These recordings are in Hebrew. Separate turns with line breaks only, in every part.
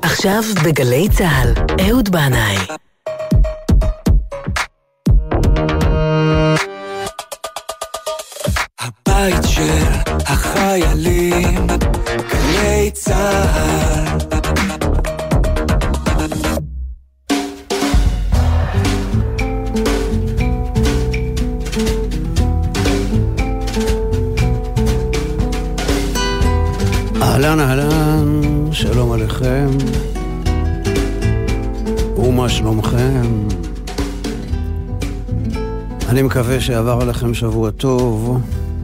עכשיו בגלי צהל, אהוד בנאי.
הבית של החיילים, גלי צהל.
אהלן אהלן, שלום עליכם, ומה שלומכם? אני מקווה שעבר עליכם שבוע טוב.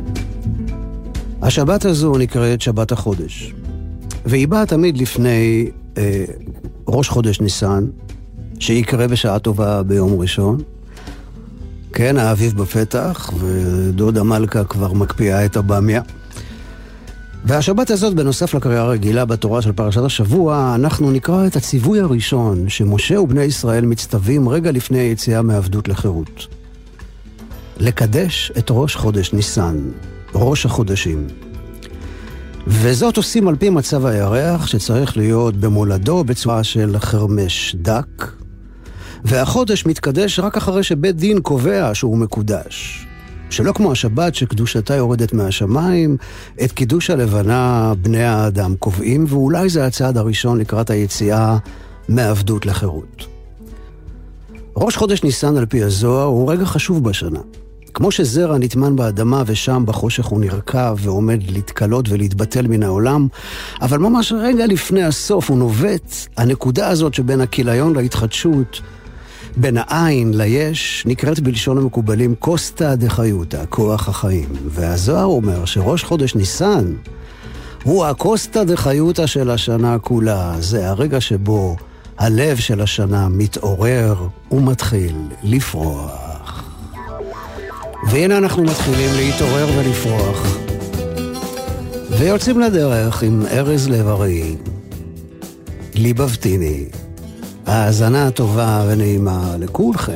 השבת הזו נקראת שבת החודש, והיא באה תמיד לפני ראש חודש ניסן, שיקרה בשעה טובה ביום ראשון. כן, האביב בפתח, ודודה מלכה כבר מקפיאה את הבמיה. והשבת הזאת, בנוסף לקריאה הרגילה בתורה של פרשת השבוע, אנחנו נקרא את הציווי הראשון שמשה ובני ישראל מצטווים רגע לפני היציאה מעבדות לחירות. לקדש את ראש חודש ניסן, ראש החודשים. וזאת עושים על פי מצב הירח, שצריך להיות במולדו בצורה של חרמש דק, והחודש מתקדש רק אחרי שבית דין קובע שהוא מקודש. שלא כמו השבת שקדושתה יורדת מהשמיים, את קידוש הלבנה בני האדם קובעים, ואולי זה הצעד הראשון לקראת היציאה מעבדות לחירות. ראש חודש ניסן על פי הזוהר הוא רגע חשוב בשנה. כמו שזרע נטמן באדמה ושם בחושך הוא נרכב ועומד להתקלות ולהתבטל מן העולם, אבל ממש רגע לפני הסוף הוא נובט, הנקודה הזאת שבין הכיליון להתחדשות, בין העין ליש, נקראת בלשון המקובלים קוסטה דחיותה, כוח החיים. והזוהר אומר שראש חודש ניסן הוא הקוסטה דחיותה של השנה כולה. זה הרגע שבו הלב של השנה מתעורר ומתחיל לפרוח. והנה אנחנו מתחילים להתעורר ולפרוח, ויוצאים לדרך עם ארז לב-ארי, ליבבתיני. האזנה טובה ונעימה לכולכם.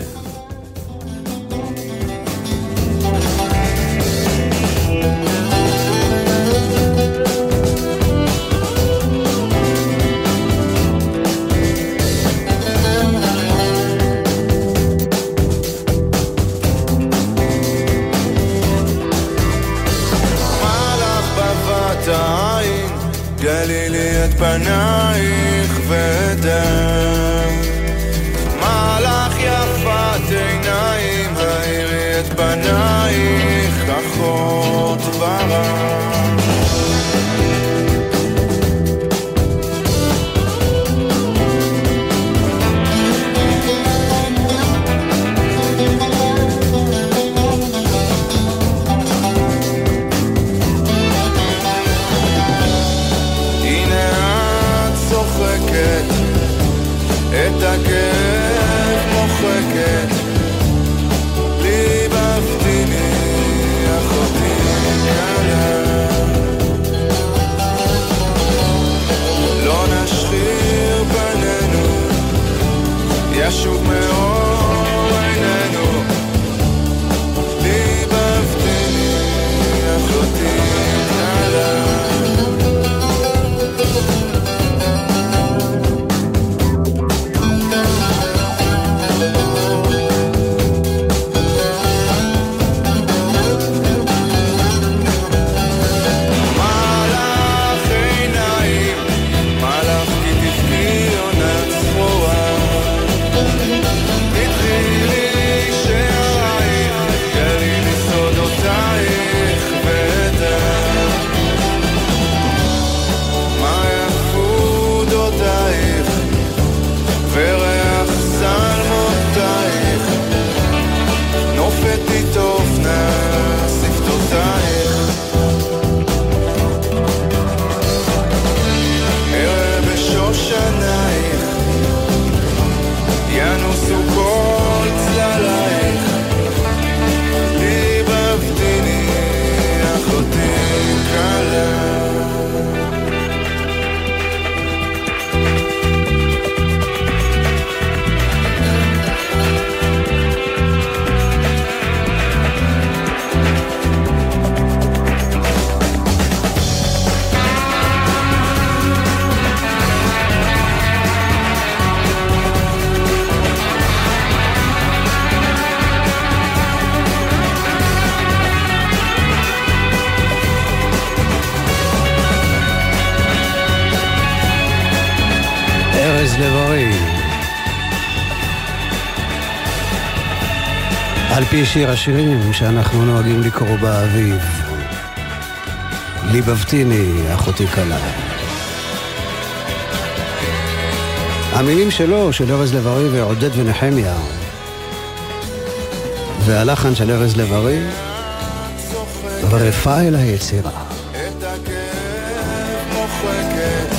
מלך בבת העין, גלי לי את פנייך ודם, עיניים, האירי את פנייך כחות ורם. הנה את צוחקת, את הכאב מוחקת, ליבבתיני אחותי קלה. לא נשחיר פנינו, ישוב מאור עינינו, ליבבתיני אחותי קלה.
לב-ארי. על פי שיר השירים שאנחנו נוהגים לקרוא באביב, ליבבתיני אחותי קלה. המילים שלו, של ארז לב-ארי ועודד ונחמיה, והלחן של ארז לב-ארי, ורפה אל היצירה.
את הכאב מוחקת,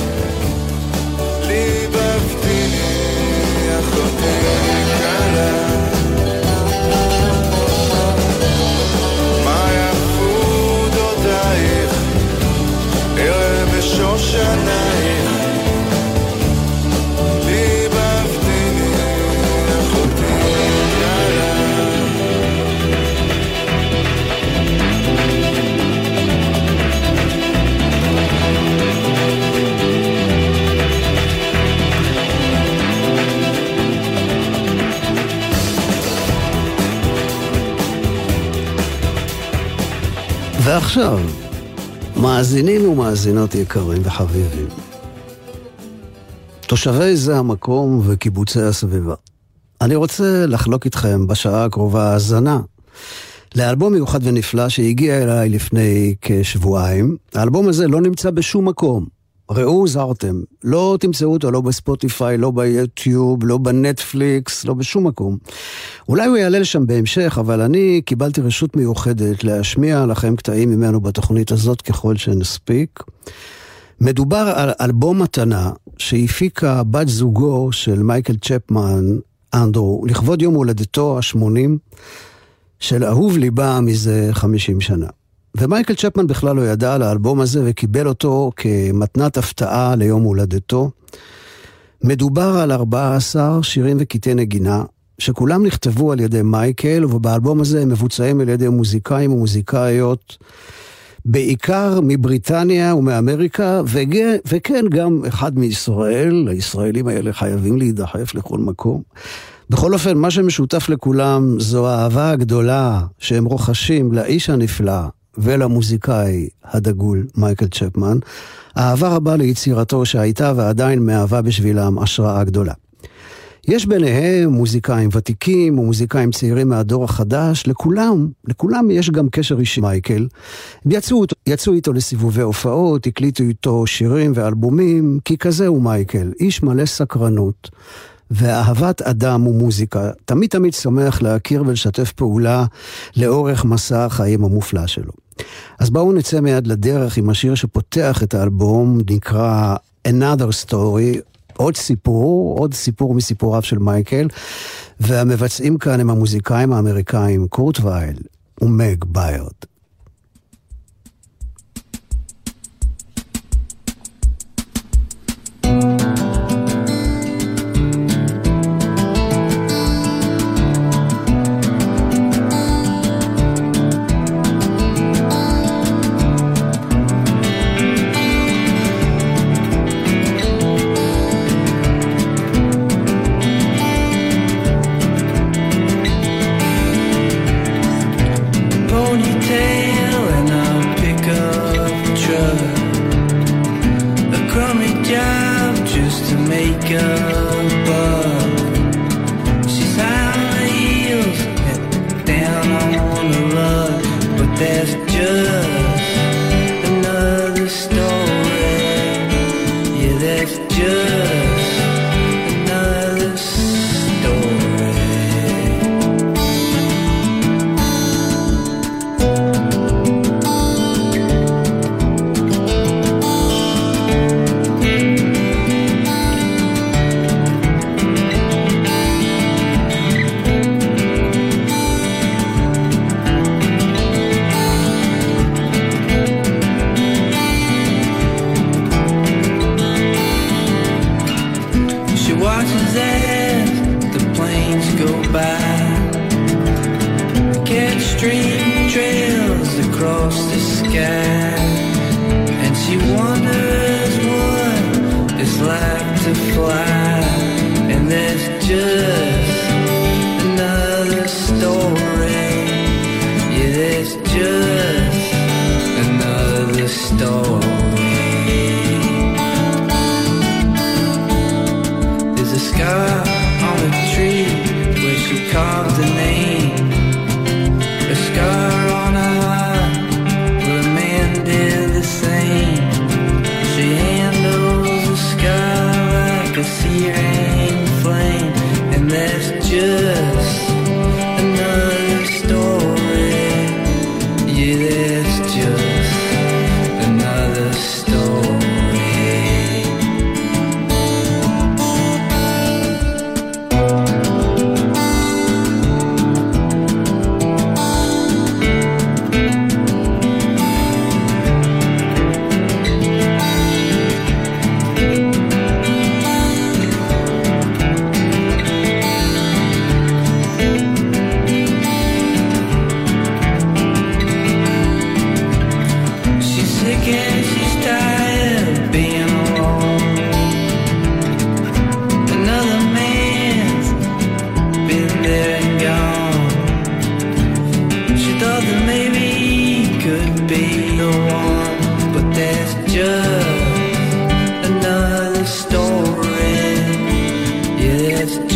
ליבבתיני אחותי קלה. מה יפו דודייך, ערב בשושנייך, ליבבתיני אחותי קלה.
ועכשיו, מאזינים ומאזינות יקרים וחביבים, תושבי זה המקום וקיבוצי הסביבה, אני רוצה לחלוק איתכם בשעה הקרובה האזנה לאלבום מיוחד ונפלא שהגיע אליי לפני כשבועיים. האלבום הזה לא נמצא בשום מקום, ראו זרתם, לא תמצאו אותו לא בספוטיפיי, לא ביוטיוב, לא בנטפליקס, לא בשום מקום. אולי הוא יעלה לשם בהמשך, אבל אני קיבלתי רשות מיוחדת להשמיע לכם קטעים ממנו בתוכנית הזאת ככל שנספיק. מדובר על אלבום מתנה שהפיקה בת זוגו של מייקל צ'פמן, אנדרו, לכבוד יום הולדתו ה-80 של אהוב ליבה מזה 50 שנה. ומייקל צ'פמן בכלל לא ידע על האלבום הזה וקיבל אותו כמתנת הפתעה ליום הולדתו. מדובר על 14 שירים וקטעי נגינה שכולם נכתבו על ידי מייקל, ובאלבום הזה הם מבוצעים על ידי מוזיקאים ומוזיקאיות בעיקר מבריטניה ומאמריקה, וכן גם אחד מישראל. הישראלים האלה חייבים להידחף לכל מקום. בכל אופן, מה שמשותף לכולם זו האהבה הגדולה שהם רוכשים לאיש הנפלא ולמוזיקאי הדגול מייקל צ'פמן, אהבה רבה ליצירתו שהייתה ועדיין מהווה בשבילם השראה גדולה. יש ביניהם מוזיקאים ותיקים ומוזיקאים צעירים מהדור החדש, לכולם יש גם קשר אישי מייקל. יצאו איתו לסיבובי הופעות, הקליטו איתו שירים ואלבומים, כי כזה הוא מייקל, איש מלא סקרנות ואהבת אדם ומוזיקה, תמיד שמח להכיר ולשתף פעולה לאורך מסע החיים המופלא שלו. אז בואו נצא מיד לדרך עם השיר שפותח את האלבום, נקרא Another Story, עוד סיפור מסיפוריו של מייקל, והמבצעים כאן הם המוזיקאים האמריקאים קורט וייל ומג ביירד.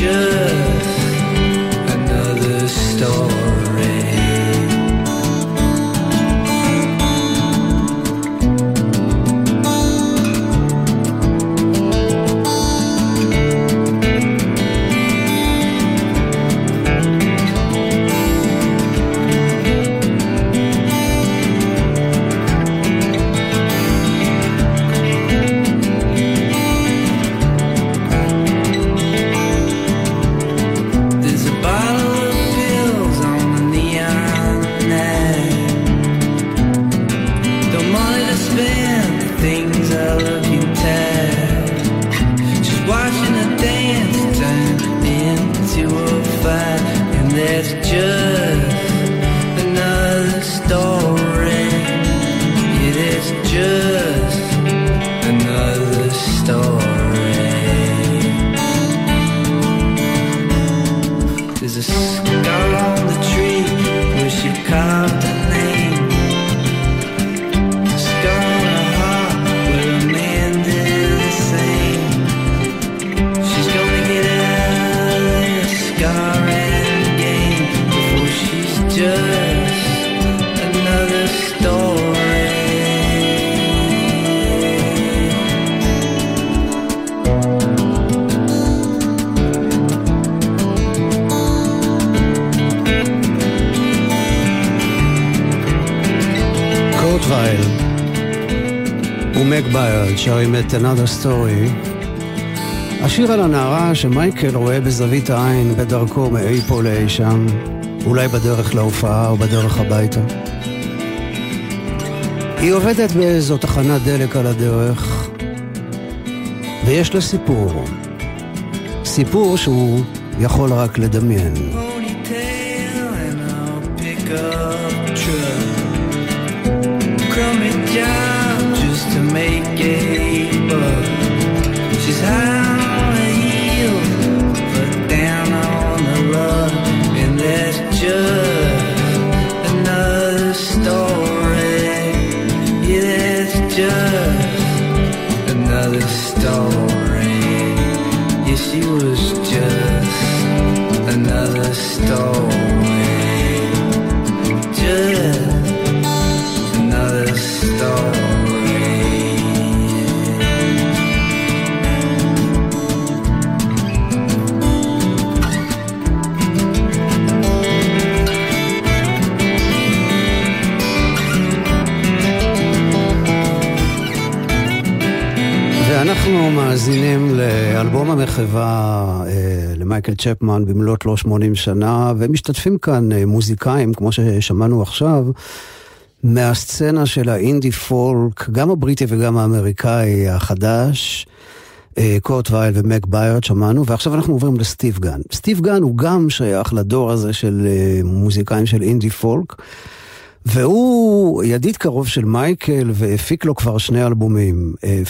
just another story.
ומק ביירד שרים את Another Story, השיר על הנערה שמייקל רואה בזווית העין בדרכו מאי פה לאי שם, אולי בדרך להופעה או בדרך הביתה. היא עובדת באיזו תחנת דלק על הדרך, ויש לה סיפור שהוא יכול רק לדמיין.
To make a buck. She's high on the heels, but down on the rug, and that's just another story. Yeah, that's just another story. Yeah, she was just another story. Just another story.
אנחנו מאזינים לאלבום המחווה למייקל צ'פמן במלאת לו 80 שנה, ומשתתפים כאן מוזיקאים, כמו ששמענו עכשיו, מהסצנה של האינדי פולק, גם הבריטי וגם האמריקאי החדש, קורט וייל ומק ביירד שמענו, ועכשיו אנחנו עוברים לסטיב גן. סטיב גן הוא גם שייך לדור הזה של מוזיקאים של אינדי פולק, והוא ידיד קרוב של מייקל, והפיק לו כבר 2 אלבומים,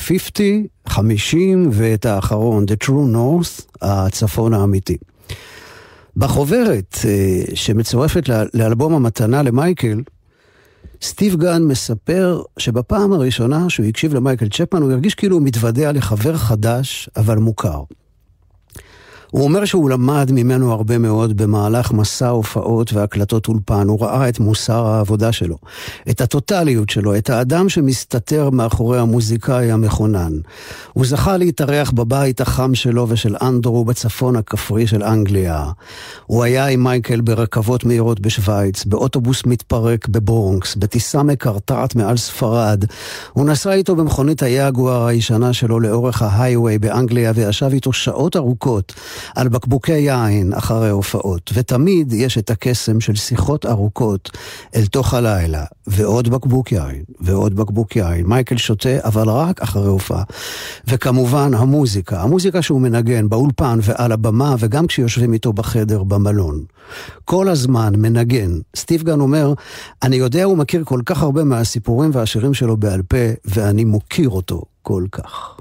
50, ואת האחרון, The True North, הצפון האמיתי. בחוברת שמצורפת לאלבום המתנה למייקל, סטיב גן מספר שבפעם הראשונה שהוא הקשיב למייקל צ'פמן, הוא הרגיש כאילו הוא מתוודע לחבר חדש, אבל מוכר. הוא אומר שהוא למד ממנו הרבה מאוד במהלך מסע הופעות והקלטות אולפן. הוא ראה את מוסר העבודה שלו, את הטוטליות שלו, את האדם שמסתתר מאחורי המוזיקאי המכונן. הוא זכה להתארח בבית החם שלו ושל אנדרו בצפון הכפרי של אנגליה. הוא היה עם מייקל ברכבות מהירות בשוויץ, באוטובוס מתפרק בברונקס, בטיסה מקרטעת מעל ספרד. הוא נסע איתו במכונית היאגואר הישנה שלו לאורך ההייווי באנגליה, וישב איתו שעות ארוכות על בקבוקי יין אחרי הופעות, ותמיד יש את הקסם של שיחות ארוכות אל תוך הלילה, ועוד בקבוק יין, ועוד בקבוק יין. מייקל שותה, אבל רק אחרי הופעה. וכמובן המוזיקה שהוא מנגן באולפן ועל הבמה, וגם כשיושבים איתו בחדר במלון. כל הזמן מנגן. סטיב גן אומר, אני יודע הוא מכיר כל כך הרבה מהסיפורים והשירים שלו בעל פה, ואני מוקיר אותו כל כך.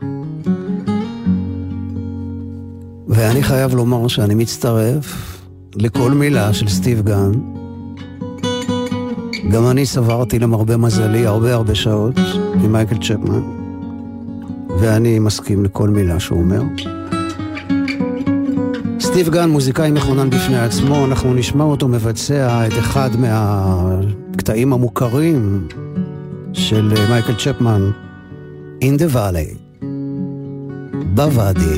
ואני חייב לומר שאני מצטרף לכל מילה של סטיב גן. גם אני סברתי למרבה מזלי הרבה שעות עם מייקל צ'פמן, ואני מסכים לכל מילה שהוא אומר. סטיב גן, מוזיקאי מכונן בפני עצמו, אנחנו נשמע אותו מבצע את אחד מהקטעים המוכרים של מייקל צ'פמן, In the Valley, בוואדי.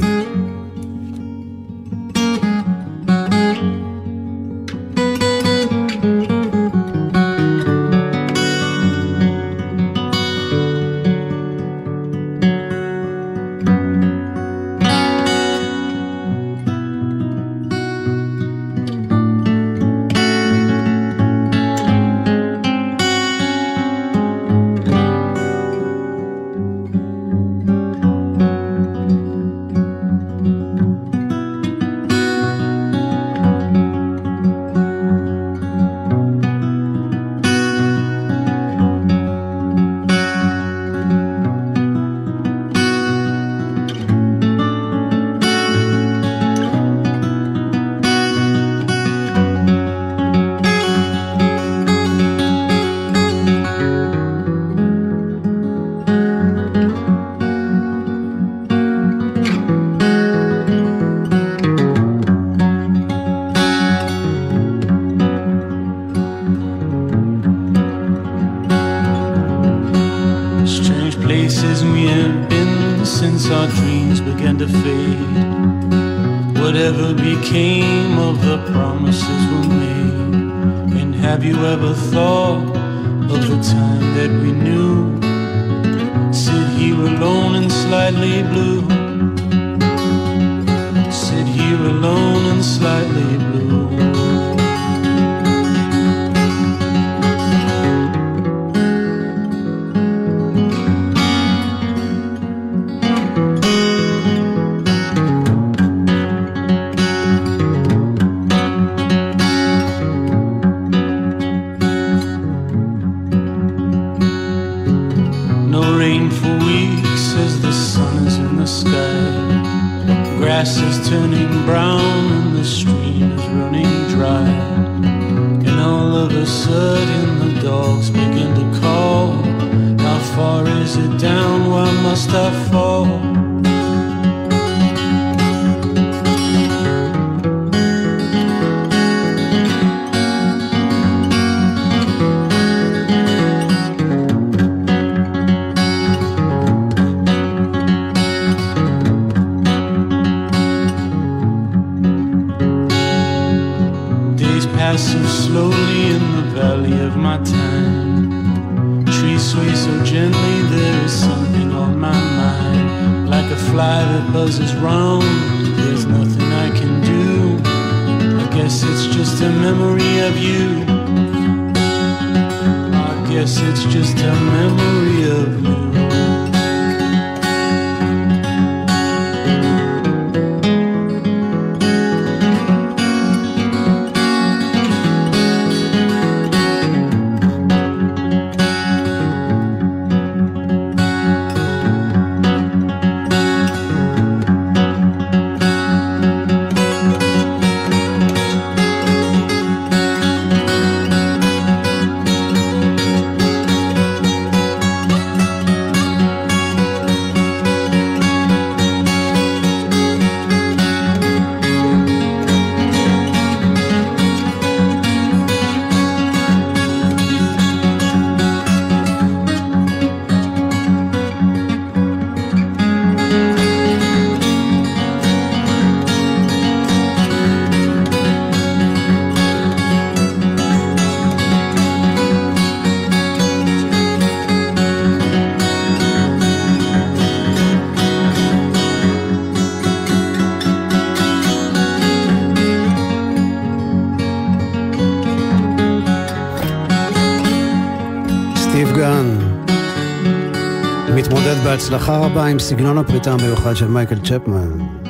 מתמודד בהצלחה רבה עם סגנון הפריטה המיוחד של מייקל צ'פמן,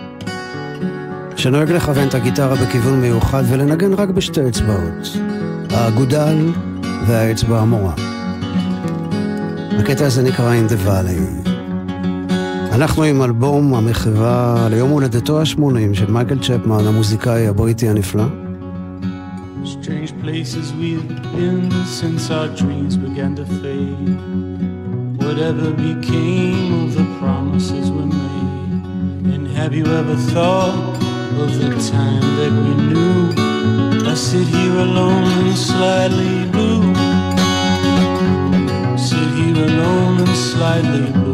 שנוהג לכוון את הגיטרה בכיוון מיוחד ולנגן רק בשתי אצבעות, האגודל והאצבע המורה. הקטע הזה נקרא In the Valley. אנחנו עם אלבום המחווה ליום הולדתו ה-80 של מייקל צ'פמן, המוזיקאי הבריטי הנפלא.
Strange places we've been since our dreams began to fade. Whatever became of the promises we made. And have you ever thought of the time that we knew. I sit here alone and slightly blue. Sit here alone and slightly blue.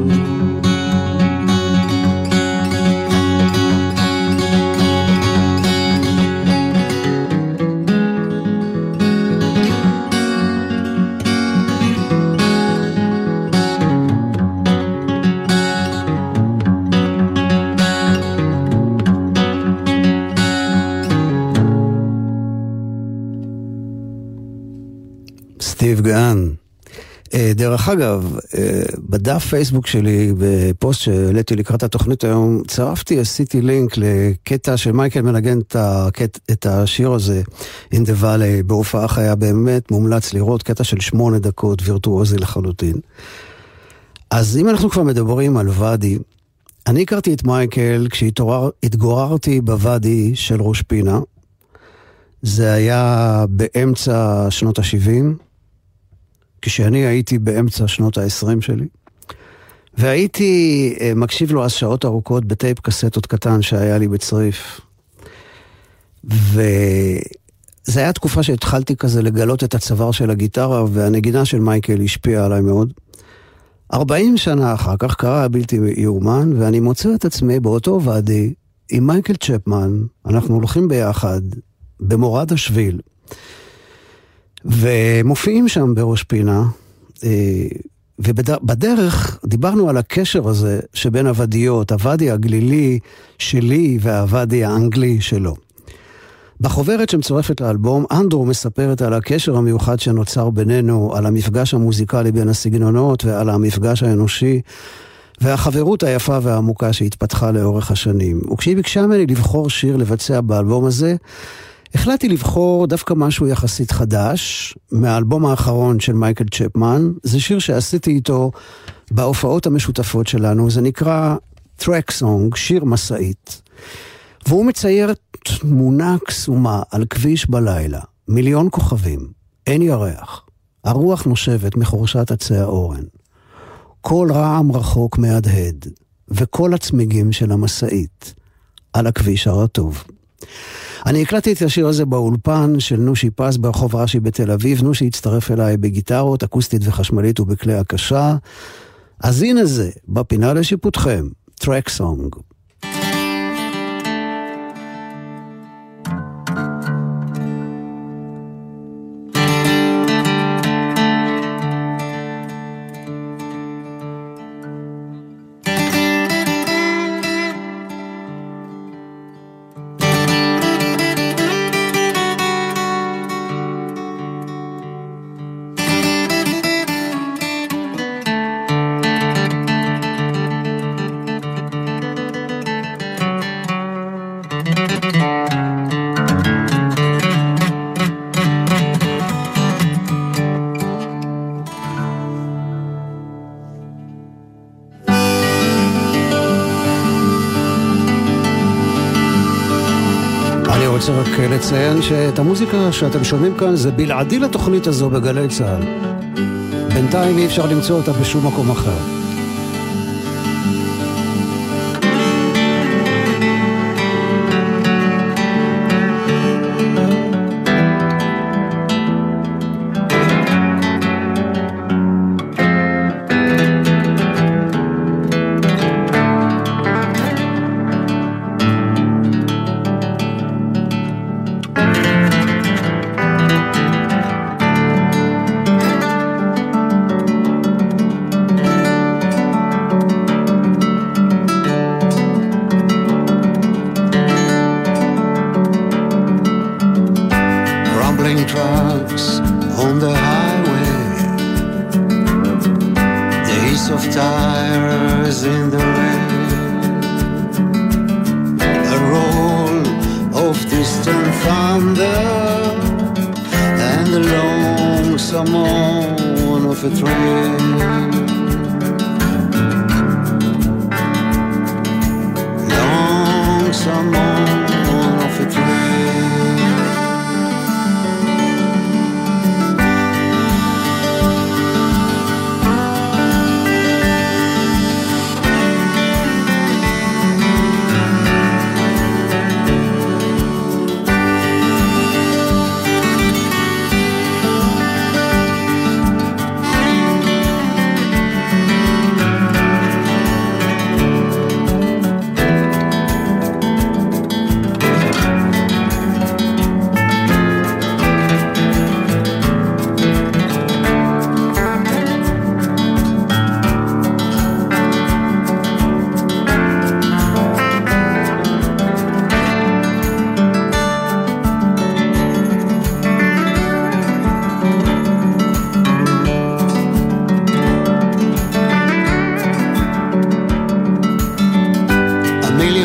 סטיב גאן. דרך אגב, בדף פייסבוק שלי, בפוסט שהעליתי לקראת התוכנית היום, עשיתי לינק לקטע שמייקל מנגן את השיר הזה, In the Valley, בהופעה חיה, באמת מומלץ לראות, קטע של 8 דקות, וירטואוזי לחלוטין. אז אם אנחנו כבר מדברים על ואדי, אני הכרתי את מייקל כשהתגוררתי בוואדי של ראש פינה. זה היה באמצע שנות ה-70, כשאני הייתי באמצע שנות ה-20 שלי, והייתי מקשיב לו אז שעות ארוכות בטייפ קסטות קטן שהיה לי בצריף. וזה היה תקופה שהתחלתי כזה לגלות את הצוואר של הגיטרה, והנגינה של מייקל השפיעה עליי מאוד. 40 שנה אחר כך קרה הבלתי יאומן, ואני מוצא את עצמי באותו ואדי עם מייקל צ'פמן. אנחנו הולכים ביחד במורד השביל, ומופיעים שם בראש פינה, ובדרך דיברנו על הקשר הזה שבין הוודיות, הוואדי הגלילי שלי והוואדי האנגלי שלו. בחוברת שמצורפת לאלבום, אנדרו מספרת על הקשר המיוחד שנוצר בינינו, על המפגש המוזיקלי בין הסגנונות ועל המפגש האנושי, והחברות היפה והעמוקה שהתפתחה לאורך השנים. וכשהיא ביקשה ממני לבחור שיר לבצע באלבום הזה, החלטתי לבחור דווקא משהו יחסית חדש, מהאלבום האחרון של מייקל צ'פמן. זה שיר שעשיתי איתו בהופעות המשותפות שלנו, זה נקרא Track Song, שיר מסעית. והוא מצייר תמונה קסומה על כביש בלילה, 1,000,000 כוכבים, אין ירח, הרוח נושבת מחורשת עצי האורן, כל רעם רחוק מהדהד, וכל הצמיגים של המסעית על הכביש הרטוב. אני הקלטתי את השיר הזה באולפן של נושי פס ברחוב רש"י בתל אביב. נושי הצטרף אליי בגיטרות, אקוסטית וחשמלית ובכלי הקשה. אז הנה זה, בפינה לשיפוטכם, Track Song. רוצה רק לציין שאת המוזיקה שאתם שומעים כאן זה בלעדי לתוכנית הזו בגלי צהל. בינתיים אי אפשר למצוא אותה בשום מקום אחר.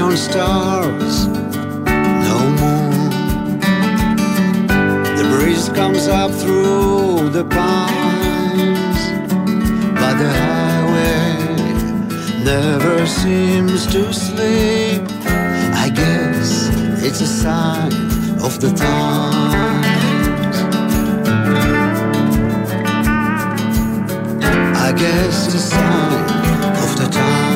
neon stars, no moon. The breeze comes up through the pines, but the highway never seems to sleep. I guess it's a sign of the times. I guess it's a sign of the times.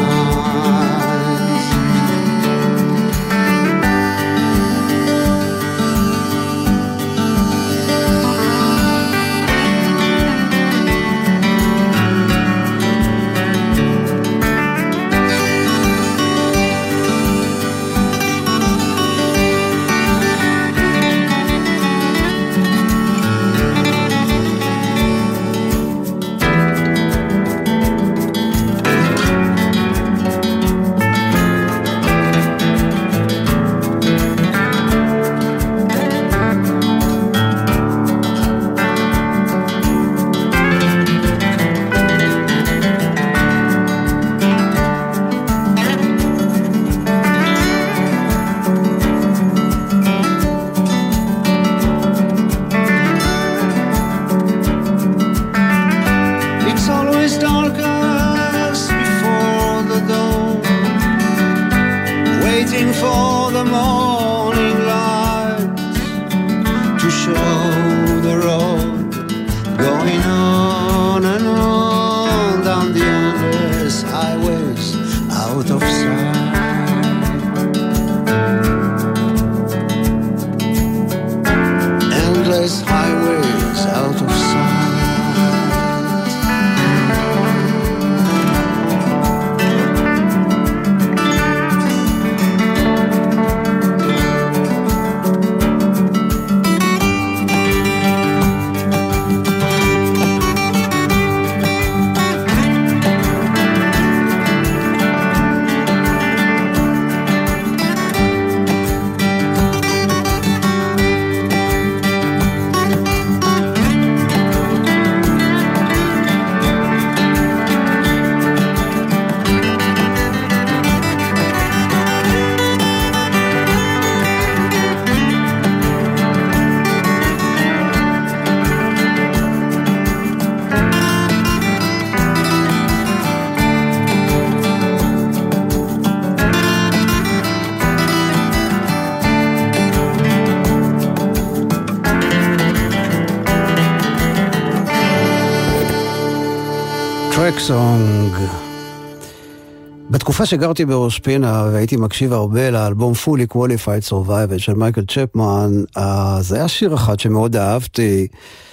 סונג. בתקופה שגרתי בראש פינה והייתי מקשיב הרבה לאלבום Fully Qualified Survivor של מייקל צ'פמן, אז היה שיר אחד שמאוד אהבתי,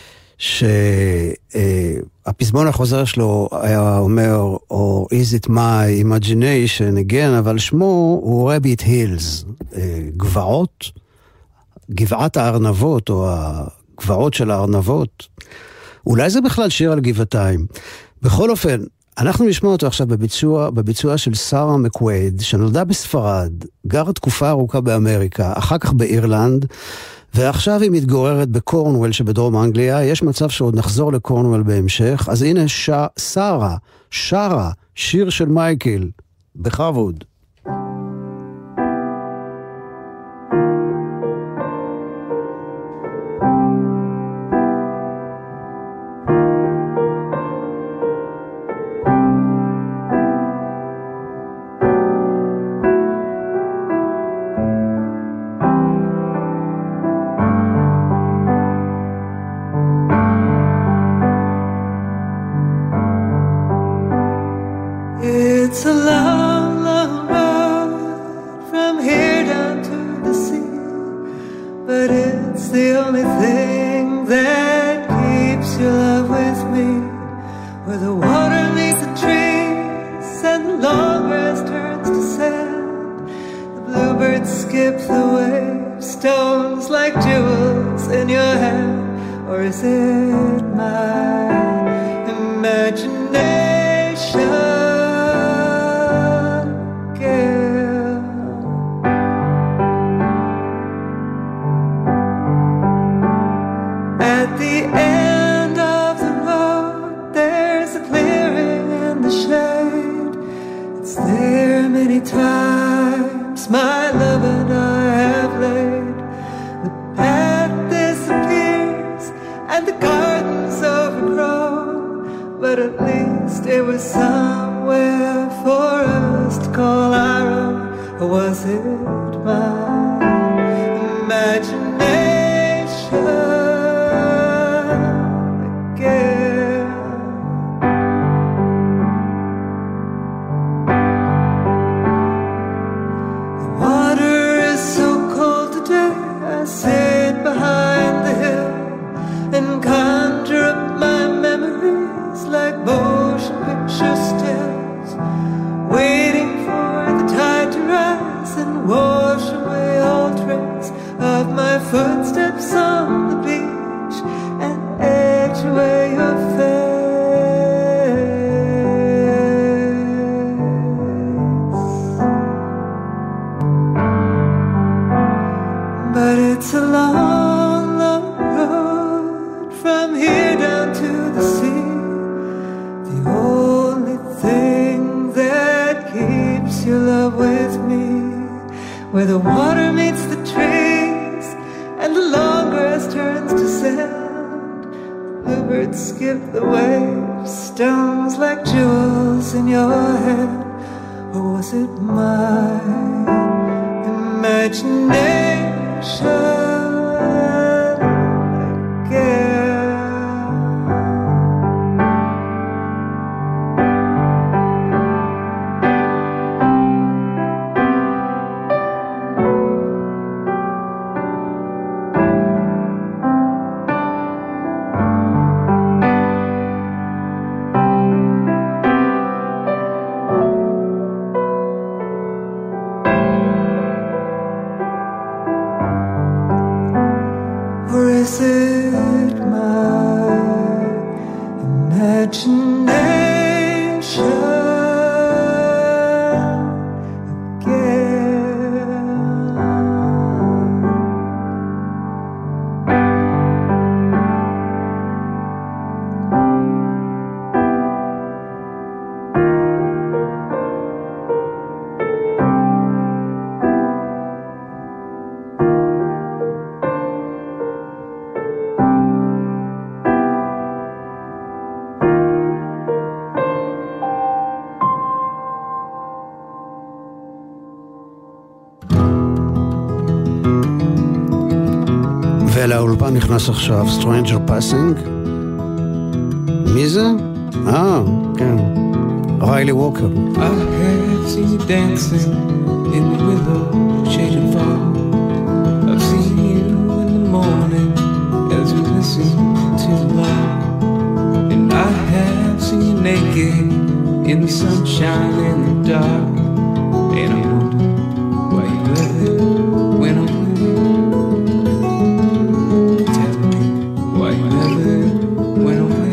שהפזמון החוזר שלו היה אומר, or is it my imagination again, אבל שמו הוא Rabbit Hills, גבעות, גבעת הארנבות או הגבעות של הארנבות. אולי זה בכלל שיר על גבעתיים. בכל אופן, אנחנו נשמע אותו עכשיו בביצוע של שרה מקווייד, שנולדה בספרד, גרה תקופה ארוכה באמריקה, אחר כך באירלנד, ועכשיו היא מתגוררת בקורנוול שבדרום אנגליה. יש מצב שעוד נחזור לקורנוול בהמשך, אז הנה שרה, שרה, שיר של מייקל, בכבוד.
It's a long, long road from here down to the sea, but it's the only thing that keeps your love with me. Where the water meets the trees and the long grass turns to sand, the bluebirds skip the waves, stones like jewels in your hand. Or is it my imagination? my love and I have laid. The path disappears and the garden's overgrown, but at least it was somewhere for us to call our own. Or was it my imagination again? The water is so cold today, I sit behind the hill and conjure up my memories like motion picture stills, waiting for the tide to rise and wash away all trace of my footsteps on the beach and etch away your face. But it's a long, long road from here down to the sea. The only thing that keeps your love with me, where the water meets the trees and the long grass turns to sand. Bluebirds skip the waves, stones like jewels in your hand. Or was it my imagination again? Or is it my imagination again?
ולאולפן נכנס עכשיו Stranger Passing. מי זה? כן. ריילי ווקר.
I have seen you dancing in the willow shaded fall. I've seen you in the morning as you listen to the light. And I have seen you naked in the sunshine and the dark. And I wonder why you ever went away. Tell me why you ever went away.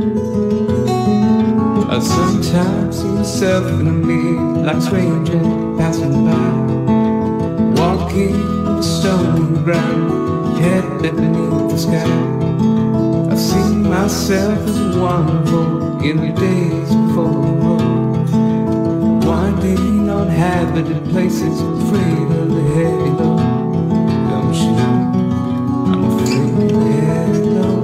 I sometimes see myself in the mirror like a stranger passing by, walking the stone ground, head beneath the sky. I've seen myself as wonderful in the days before the war, winding on habited places, afraid of the heavy load. Don't you know I'm afraid of the heavy load.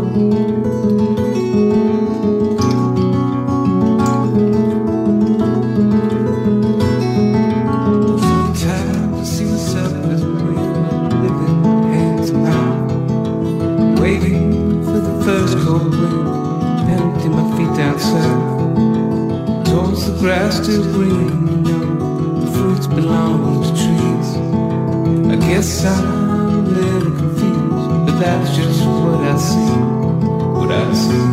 Grass still green, you know, the fruits belong to trees. I guess I'm a little confused, but that's just what I see, what I see.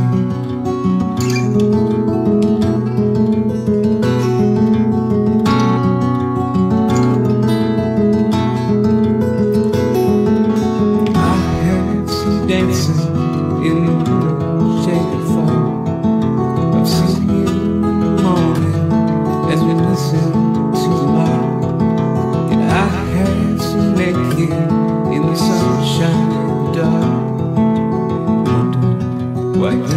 I have seen dancing in the shaded fall. I've seen you in the morning as we listen to the light. And I have seen naked in the sunshine and the dark. Wonder why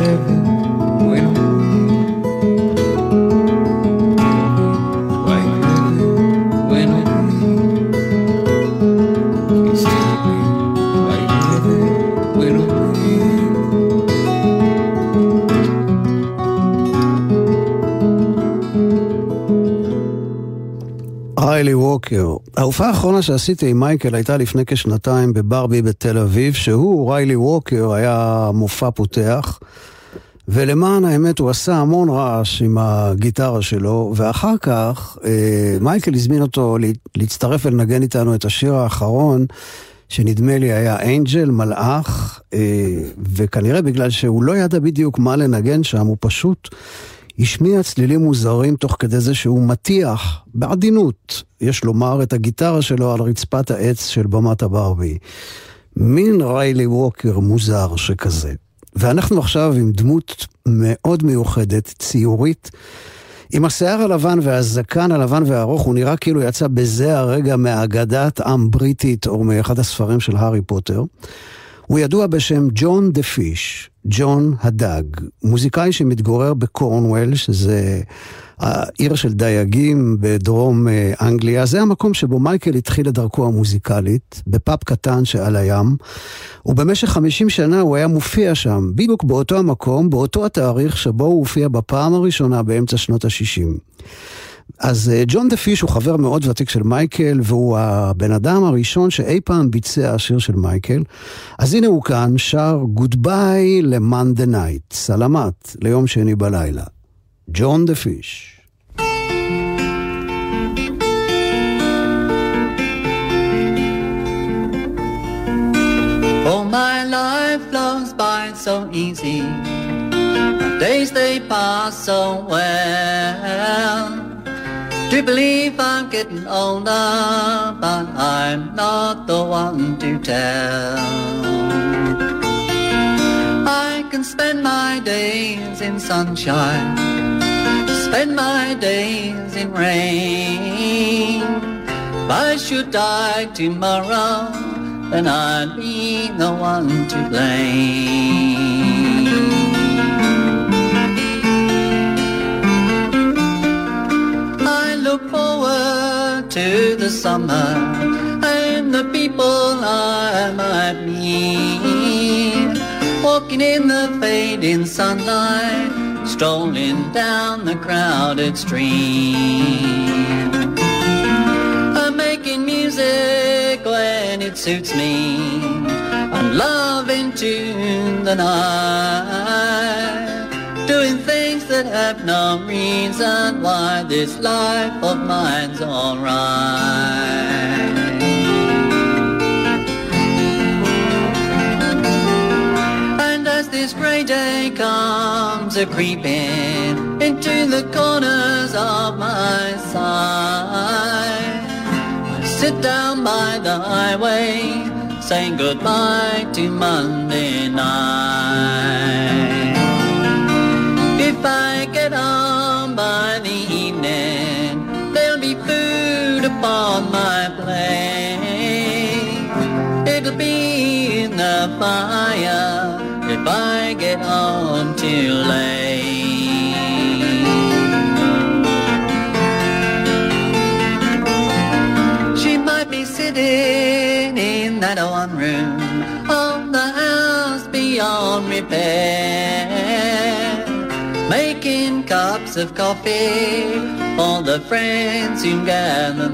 ווקר. ההופעה האחרונה שעשיתי עם מייקל הייתה לפני כשנתיים בברבי בתל אביב, שהוא, ריילי ווקר, היה מופע פותח, ולמען האמת הוא עשה המון רעש עם הגיטרה שלו, ואחר כך מייקל הזמין אותו להצטרף ולנגן איתנו את השיר האחרון, שנדמה לי היה אנג'ל, מלאך, וכנראה בגלל שהוא לא ידע בדיוק מה לנגן שם, הוא פשוט השמיע צלילים מוזרים תוך כדי זה שהוא מטיח בעדינות, יש לומר, את הגיטרה שלו על רצפת העץ של במת הברבי. מין ריילי ווקר מוזר שכזה. ואנחנו עכשיו עם דמות מאוד מיוחדת, ציורית, עם השיער הלבן והזקן הלבן והארוך, הוא נראה כאילו יצא בזה הרגע מהאגדת עם בריטית או מאחד הספרים של הארי פוטר. הוא ידוע בשם ג'ון דה פיש, ג'ון הדג, מוזיקאי שמתגורר בקורנוול, שזה העיר של דייגים בדרום אנגליה. זה המקום שבו מייקל התחיל את דרכו המוזיקלית, בפאב קטן שעל הים, ובמשך 50 שנה הוא היה מופיע שם, בדיוק באותו המקום, באותו התאריך שבו הוא הופיע בפעם הראשונה באמצע שנות ה-60. אז ג'ון דה פיש הוא חבר מאוד ותיק של מייקל, והוא הבן אדם הראשון שאי פעם ביצע השיר של מייקל. אז הנה הוא כאן, שר גודביי למאנדי נייט, סלמת ליום שני בלילה. ג'ון דה פיש.
Oh, my life flows by so easy, days they pass so well. Do believe I'm getting older, but I'm not the one to tell. I can spend my days in sunshine, spend my days in rain. If I should die tomorrow, then I'd be the one to blame. I look forward to the summer and the people I might meet, walking in the fading sunlight, strolling down the crowded street. I'm making music when it suits me, I'm loving tune the night, doing things that have no reason why this life of mine's alright. And as this grey day comes a-creeping into the corners of my sight, I sit down by the highway, saying goodbye to Monday night. If I get home by the evening, there'll be food upon my plate. It'll be in the fire if I get home too late. She might be sitting in that one room of the house beyond repair, making cups of coffee for the friends who gather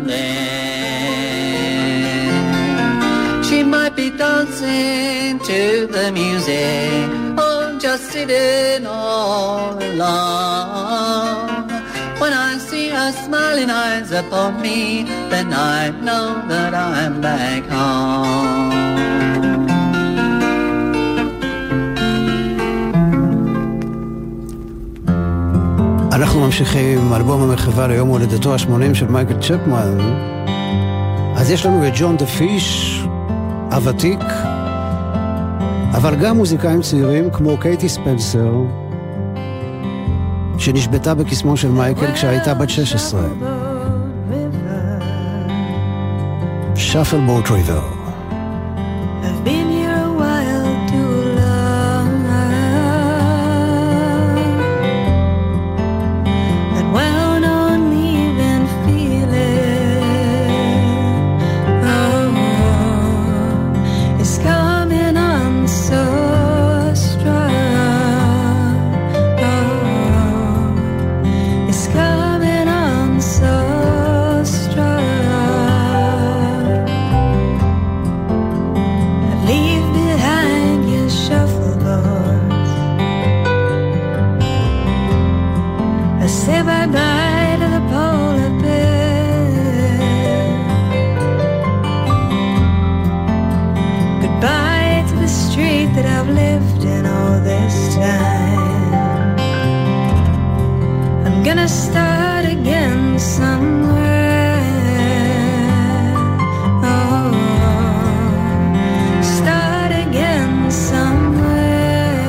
there. She might be dancing to the music or just sitting all alone. When I see her smiling eyes upon me, then I know that I'm back home.
אנחנו ממשיכים עם אלבום המחווה ליום הולדתו ה-80 של מייקל צ'פמן. אז יש לנו את ג'ון דה פיש, הוותיק, אבל גם מוזיקאים צעירים כמו קייטי ספנסר, שנשבתה בקסמו של מייקל כשהייתה בת 16. שפל בוט ריבר.
I've been here a while too long, that wound on leaving feeling, oh, it's coming on so strong, oh, it's coming on so strong. street that I've lived in all this time. I'm gonna start again somewhere. Oh, start again somewhere.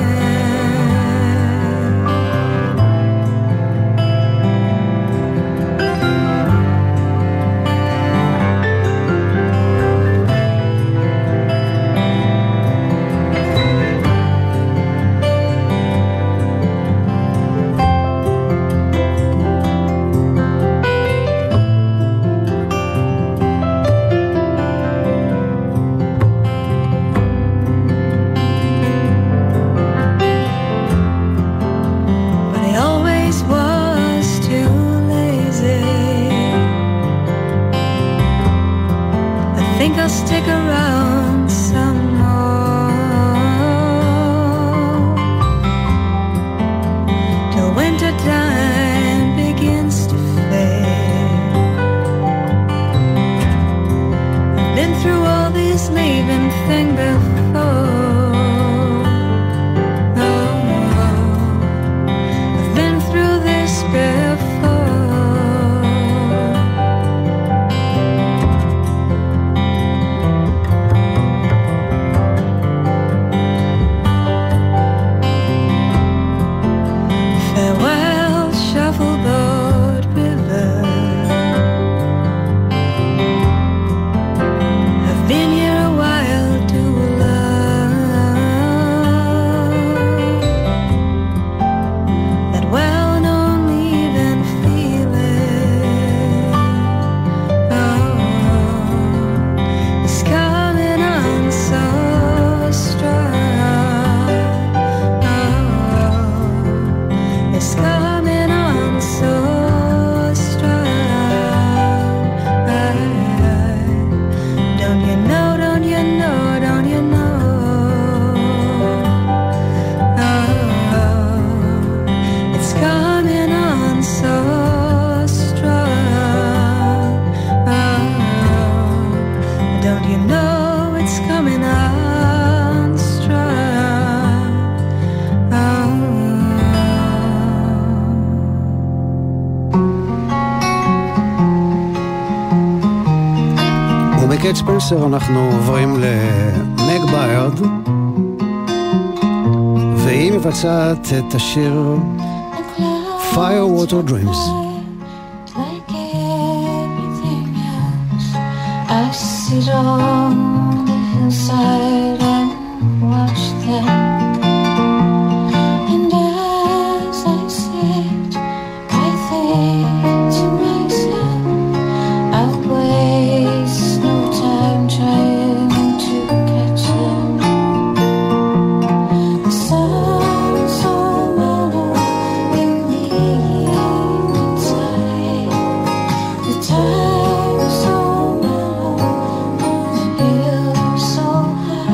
I'll stick around some more till winter time begins to fade. I've been through all this leaving thing before. Oh, I've been through this before.
קייט ספנסר אנחנו עוברים למג ביירד, והיא מבצעת את השיר Fire Water Dreams.
Like everything else, I sit on the hillside and watch them. And as I sit, I think to myself, I'll waste no time trying to catch them. The sun's so mellow in the evening side. The time's so mellow on the hill so high.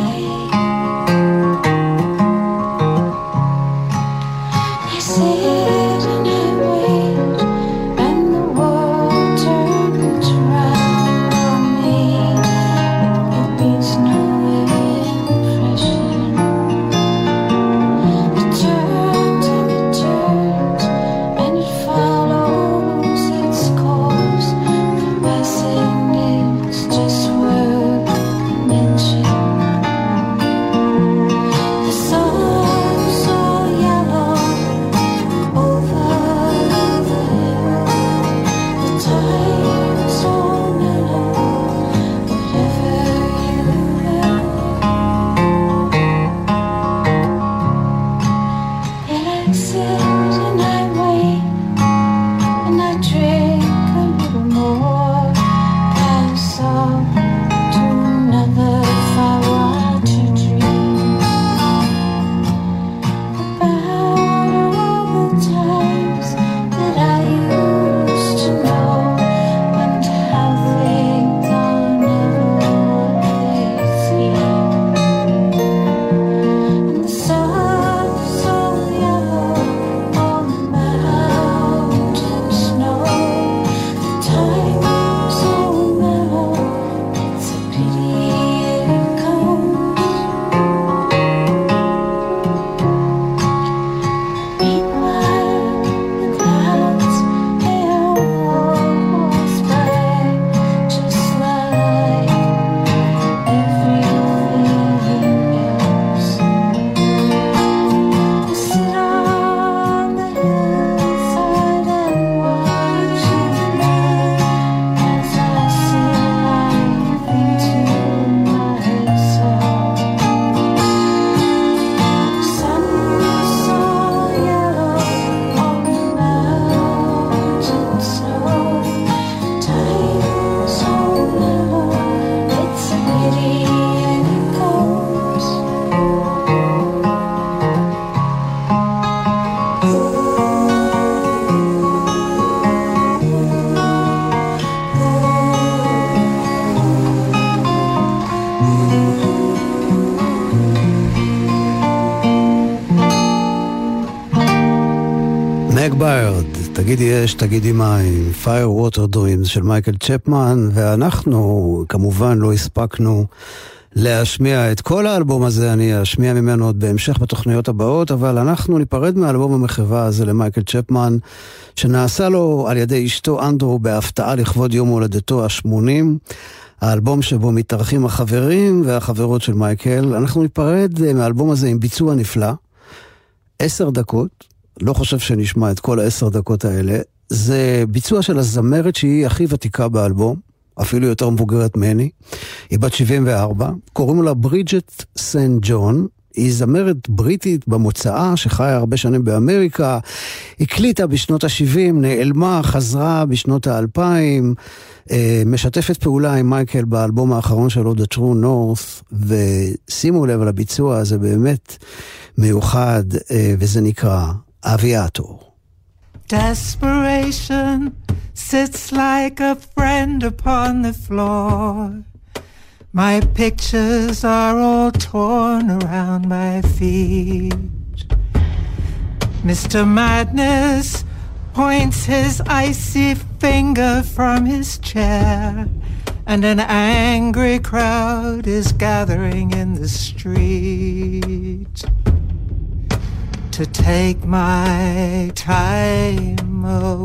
ביירד, תגידי אש, תגידי מים, Fire Water Dreams של מייקל צ'פמן, ואנחנו כמובן לא הספקנו להשמיע את כל האלבום הזה, אני אשמיע ממנו עוד בהמשך בתוכניות הבאות, אבל אנחנו ניפרד מהאלבום המחווה הזה למייקל צ'פמן, שנעשה לו על ידי אשתו אנדרו בהפתעה לכבוד יום הולדתו ה-80, האלבום שבו מתארחים החברים והחברות של מייקל. אנחנו ניפרד מהאלבום הזה עם ביצוע נפלא, 10 דקות, לא חושב שנשמע את כל 10 דקות האלה, זה ביצוע של הזמרת שהיא הכי ותיקה באלבום, אפילו יותר מבוגרת ממני, היא בת 74, קוראים לה ברידג'ט סנט ג'ון, היא זמרת בריטית במוצאה שחיה הרבה שנים באמריקה, הקליטה בשנות ה-70, נעלמה, חזרה בשנות ה-2000, משתפת פעולה עם מייקל באלבום האחרון שלו, The True North, ושימו לב על הביצוע הזה באמת מיוחד, וזה נקרא אביאטור.
Desperation sits like a friend upon the floor. My pictures are all torn around my feet. Mr. Madness points his icy finger from his chair, and an angry crowd is gathering in the street to take my time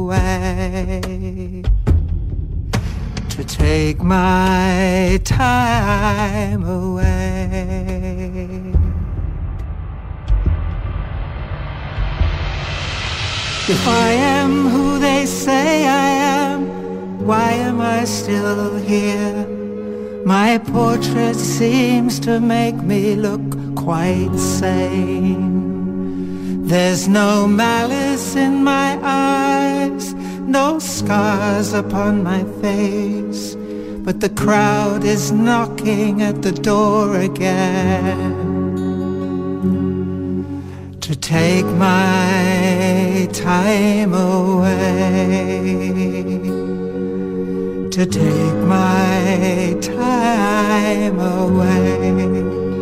away, to take my time away. If I am who they say I am, why am I still here? My portrait seems to make me look quite sane. There's no malice in my eyes, no scars upon my face, but the crowd is knocking at the door again to take my time away, to take my time away.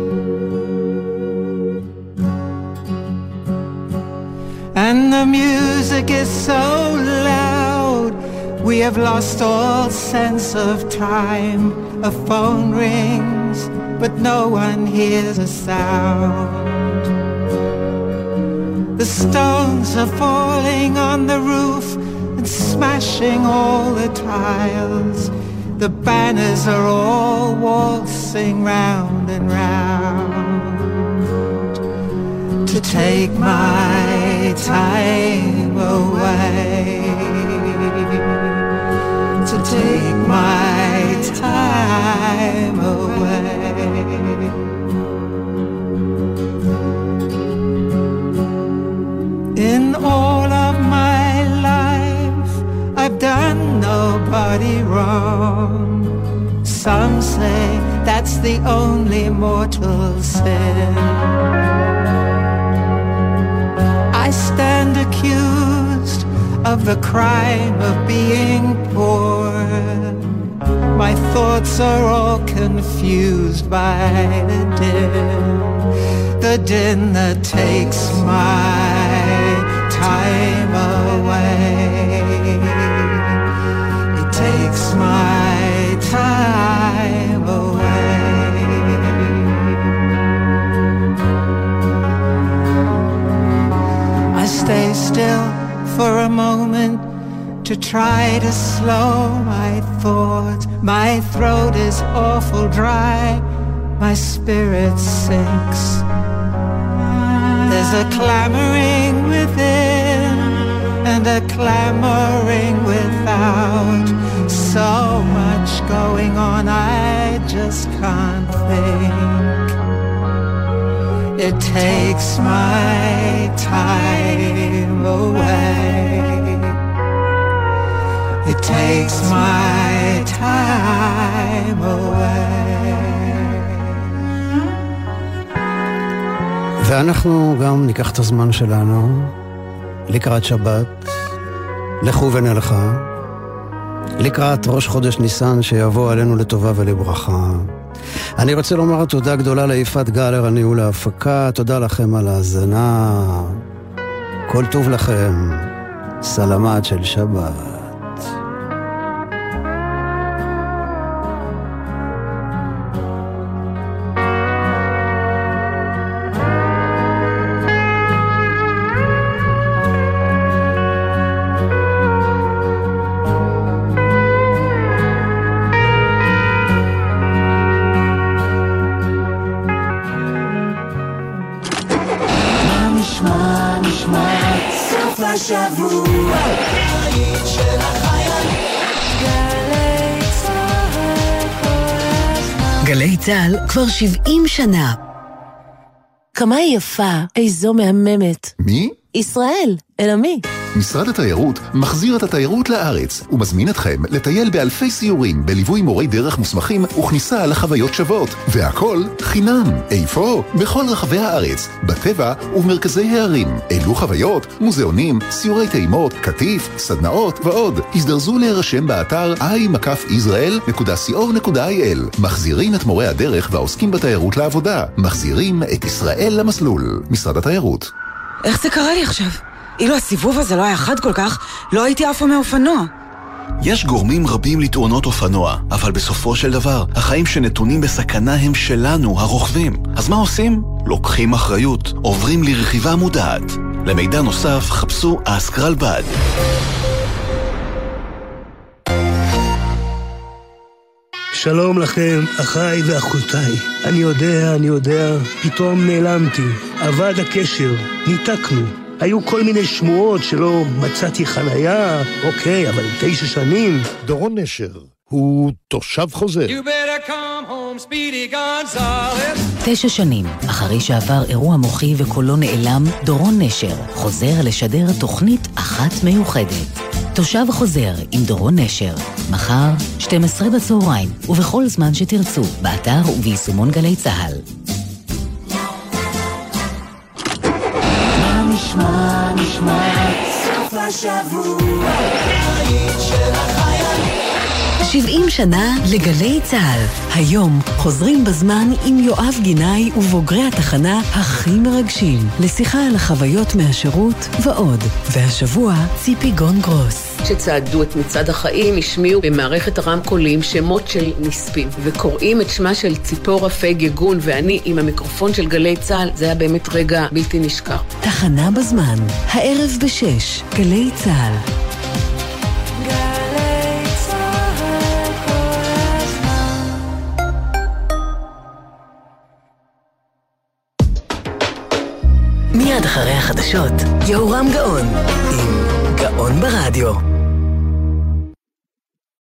And the music is so loud, we have lost all sense of time. A phone rings, but no one hears a sound. The stones are falling on the roof and smashing all the tiles. The banners are all waltzing round and round to take my time away, to take my time away. In all of my life I've done nobody wrong. Some say that's the only mortal sin. I stand accused of the crime of being poor. My thoughts are all confused by the din that takes my time away. It takes my time away. I stay still for a moment to try to slow my thoughts. My throat is awful dry, my spirit sinks. There's a clamoring within and a clamoring without. So much going on, I just can't think. It takes my time away. It takes my time away.
ואנחנו גם ניקח את הזמן שלנו לקראת שבת, לכו ונלכה, לקראת ראש חודש ניסן שיבוא עלינו לטובה ולברכה. אני רוצה לומר תודה גדולה ליפת גלר, הניהול ההפקה, תודה לכם על ההאזנה, כל טוב לכם, סלמת של שבת.
גלי צהל כבר 70 שנה. כמה היא יפה, איזו מהממת.
מי?
ישראל, אלא מי?
משרד התיירות מחזיר את התיירות לארץ ומזמין אתכם לטייל באלפי סיורים בליווי מורי דרך מוסמכים וכניסה לחוויות שוות, והכל חינם. איפה? בכל רחבי הארץ, בטבע ובמרכזי הערים. אילו חוויות, מוזיאונים, סיורי טעימות, כתיף, סדנאות ועוד. הזדרזו להירשם באתר i-israel.co.il. מחזירים את מורי הדרך והעוסקים בתיירות לעבודה. מחזירים את ישראל למסלול. משרד התיירות.
איך זה קרה לי עכשיו? אילו הסיבוב הזה לא היה חד כל כך, לא הייתי עפה מאופנוע.
יש גורמים רבים לתאונות אופנוע, אבל בסופו של דבר, החיים שנתונים בסכנה הם שלנו, הרוכבים. אז מה עושים? לוקחים אחריות, עוברים לרכיבה מודעת. למידע נוסף, חפשו אסקרלבד.
שלום לכם, אחיי ואחותיי. אני יודע, פתאום נעלמתי. אבד הקשר, ניתקנו. היו כל מיני שמועות שלא מצאתי חנייה, אוקיי, אבל 9 שנים.
דורון נשר הוא תושב חוזר.
9 שנים, אחרי שעבר אירוע מוחי וקולו נעלם, דורון נשר חוזר לשדר תוכנית אחת מיוחדת. תושב חוזר עם דורון נשר, מחר 12 בצהריים ובכל זמן שתרצו, באתר וביישומון גלי צהל.
נשמע סוף השבוע של החיילים.
70 שנה לגלי צהל. היום חוזרים בזמן עם יואב גינאי ובוגרי התחנה הכי מרגשים לשיחה על החוויות מהשירות ועוד. והשבוע ציפי גון גרוס.
שצעדו את מצעד החיים השמיעו במערכת הרמקולים שמות של נספים וקוראים את שמה של ציפורה פייג יגון ואני עם המיקרופון של גלי צהל. זה היה באמת רגע בלתי נשכח.
תחנה בזמן, הערב ב-6, גלי צהל. מיד אחרי החדשות, יהורם גאון עם גאון ברדיו.